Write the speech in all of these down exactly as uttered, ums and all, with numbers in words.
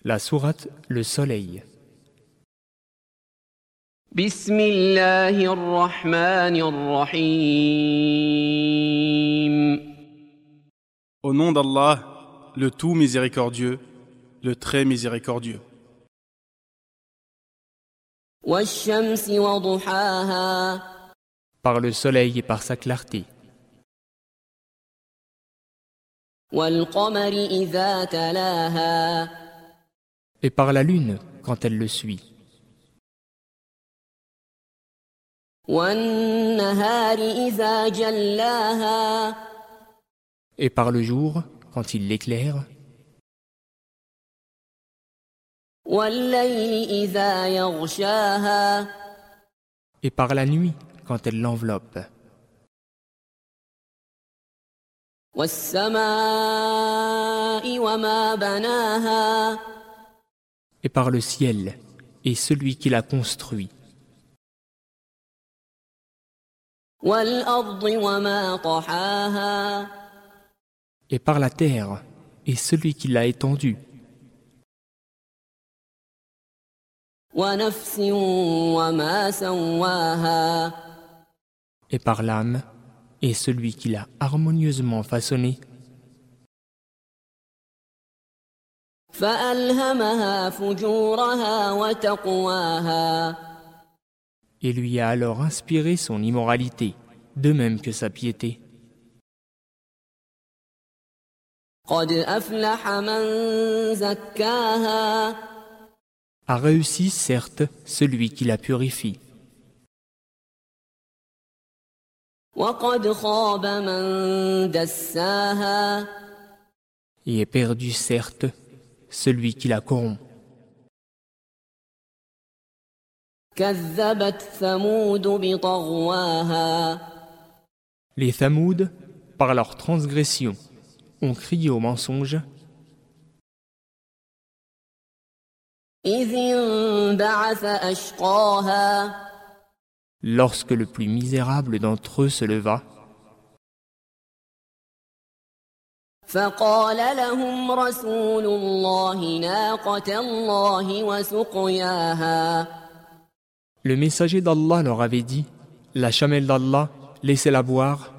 La sourate Le Soleil. Bismillahir Rahmanir Rahim. Au nom d'Allah, le tout miséricordieux, le très miséricordieux. Wash-shamsi wa duhaha. Par le soleil et par sa clarté. Wal-qamari idha talaha. Et par la lune quand elle le suit. Wan-nahari idha jallaha. Et par le jour quand il l'éclaire. Wal-layli idha yaghshaha. Et par la nuit quand elle l'enveloppe. Was-samaa'i wa ma banaha. Et par le ciel et celui qui l'a construit. Wal-ardi wa ma tahaha. Et par la terre et celui qui l'a étendue. Wa nafsin wa ma sawwaha. Et par l'âme et celui qui l'a harmonieusement façonné. فألهمها فجورها وتقواها. Et lui a alors inspiré son immoralité, de même que sa piété. قد أفلح من زكاها. A réussi certes celui qui la purifie. وقد خاب من دساها. Et est perdu certes celui qui la corrompt. كذبت ثمود بطغواها. Les Thamouds, par leur transgression, ont crié au mensonge. إذ انبعث أشقاها. Lorsque le plus misérable d'entre eux se leva. فقال لهم رسول الله ناقة الله وسقياها. Le messager d'Allah leur avait dit, la chamelle d'Allah, laissez-la boire.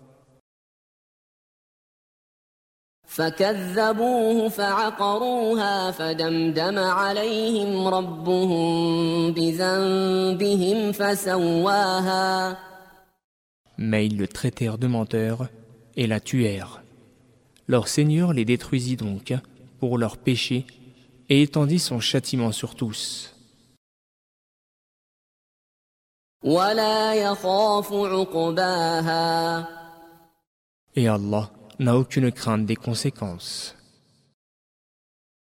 فكذبوه فعقروها فدمدم عليهم ربهم بذنبهم فسواها. Mais ils le traitèrent de menteur et la tuèrent. Leur Seigneur les détruisit donc pour leurs péchés et étendit son châtiment sur tous. ولا يخاف عقباها. Et Allah n'a aucune crainte des conséquences.